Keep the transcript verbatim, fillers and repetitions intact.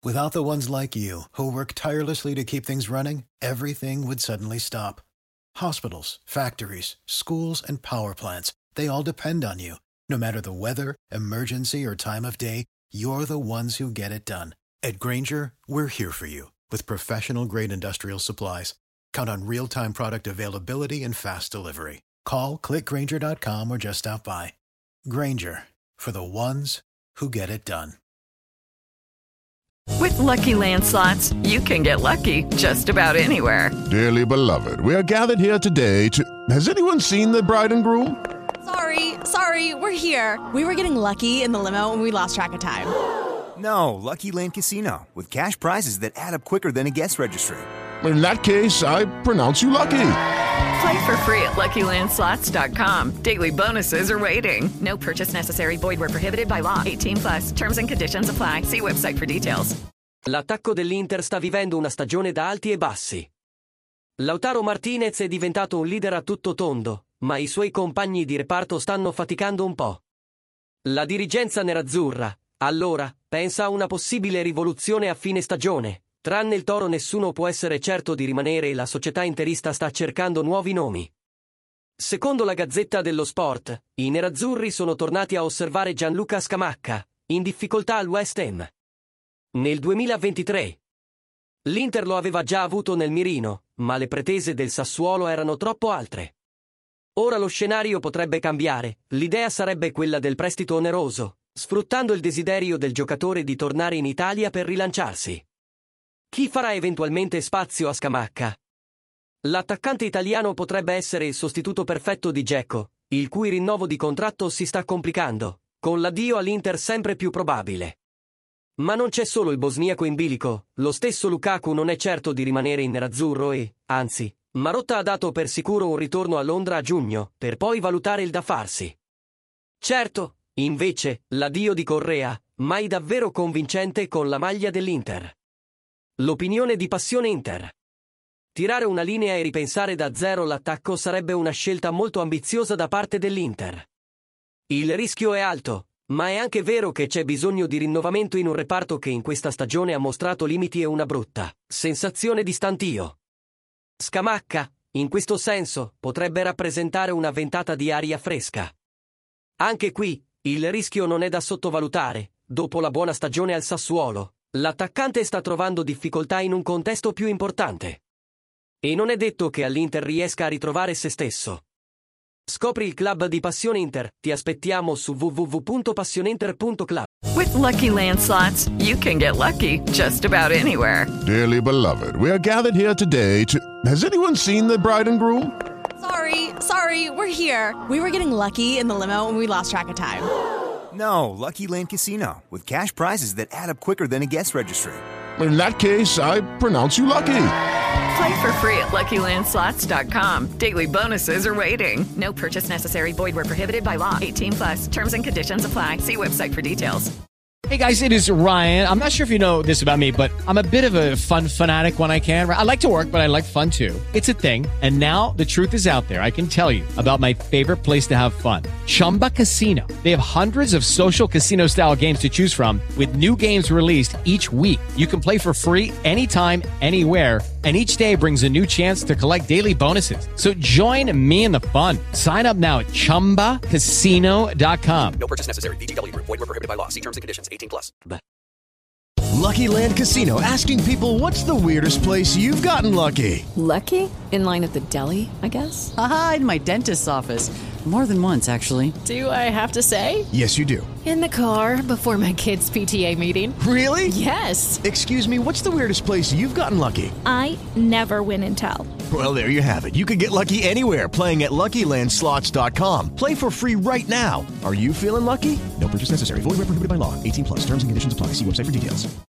Without the ones like you, who work tirelessly to keep things running, everything would suddenly stop. Hospitals, factories, schools, and power plants, they all depend on you. No matter the weather, emergency, or time of day, you're the ones who get it done. At Grainger, we're here for you with professional-grade industrial supplies. Count on real-time product availability and fast delivery. Call, click Grainger dot com, or just stop by. Grainger, for the ones who get it done. With Lucky Land Slots, you can get lucky just about anywhere. Dearly beloved, we are gathered here today to... Has anyone seen the bride and groom? Sorry, sorry, we're here. We were getting lucky in the limo and we lost track of time. No, Lucky Land Casino, with cash prizes that add up quicker than a guest registry. In that case, I pronounce you lucky. Play for free at Lucky Land Slots dot com. Daily bonuses are waiting. No purchase necessary. Void where prohibited by law. eighteen plus. Terms and conditions apply. See website for details. L'attacco dell'Inter sta vivendo una stagione da alti e bassi. Lautaro Martinez è diventato un leader a tutto tondo, ma i suoi compagni di reparto stanno faticando un po'. La dirigenza nerazzurra, allora, pensa a una possibile rivoluzione a fine stagione. Tranne il Toro nessuno può essere certo di rimanere e la società interista sta cercando nuovi nomi. Secondo la Gazzetta dello Sport, i nerazzurri sono tornati a osservare Gianluca Scamacca, in difficoltà al West Ham. Nel duemilaventitré. L'Inter lo aveva già avuto nel mirino, ma le pretese del Sassuolo erano troppo altre. Ora lo scenario potrebbe cambiare, l'idea sarebbe quella del prestito oneroso, sfruttando il desiderio del giocatore di tornare in Italia per rilanciarsi. Chi farà eventualmente spazio a Scamacca? L'attaccante italiano potrebbe essere il sostituto perfetto di Dzeko, il cui rinnovo di contratto si sta complicando, con l'addio all'Inter sempre più probabile. Ma non c'è solo il bosniaco in bilico, lo stesso Lukaku non è certo di rimanere in nerazzurro e, anzi, Marotta ha dato per sicuro un ritorno a Londra a giugno, per poi valutare il da farsi. Certo, invece, l'addio di Correa, mai davvero convincente con la maglia dell'Inter. L'opinione di Passione Inter. Tirare una linea e ripensare da zero l'attacco sarebbe una scelta molto ambiziosa da parte dell'Inter. Il rischio è alto, ma è anche vero che c'è bisogno di rinnovamento in un reparto che in questa stagione ha mostrato limiti e una brutta sensazione di stantio. Scamacca, in questo senso, potrebbe rappresentare una ventata di aria fresca. Anche qui, il rischio non è da sottovalutare. Dopo la buona stagione al Sassuolo, l'attaccante sta trovando difficoltà in un contesto più importante. E non è detto che all'Inter riesca a ritrovare se stesso. Scopri il club di Passione Inter. Ti aspettiamo su w w w punto passioneinter punto club. With Lucky Land Slots, you can get lucky just about anywhere. Dearly beloved, we are gathered here today to... Has anyone seen the bride and groom? Sorry, sorry, we're here. We were getting lucky in the limo and we lost track of time. No, Lucky Land Casino, with cash prizes that add up quicker than a guest registry. In that case, I pronounce you lucky. Play for free at Lucky Land Slots dot com. Daily bonuses are waiting. No purchase necessary. Void where prohibited by law. eighteen plus. Terms and conditions apply. See website for details. Hey guys, it is Ryan. I'm not sure if you know this about me, but I'm a bit of a fun fanatic when I can. I like to work, but I like fun too. It's a thing. And now the truth is out there. I can tell you about my favorite place to have fun. Chumba Casino. They have hundreds of social casino style games to choose from with new games released each week. You can play for free anytime, anywhere. And each day brings a new chance to collect daily bonuses. So join me in the fun. Sign up now at chumba casino dot com. No purchase necessary. V G W. Void where prohibited by law. See terms and conditions. eighteen plus. Lucky Land Casino, asking people, what's the weirdest place you've gotten lucky? Lucky? In line at the deli, I guess? Aha, in my dentist's office. More than once, actually. Do I have to say? Yes, you do. In the car before my kids' P T A meeting. Really? Yes. Excuse me, what's the weirdest place you've gotten lucky? I never win and tell. Well, there you have it. You can get lucky anywhere, playing at Lucky Land Slots dot com. Play for free right now. Are you feeling lucky? No purchase necessary. Void where prohibited by law. eighteen plus. Terms and conditions apply. See website for details.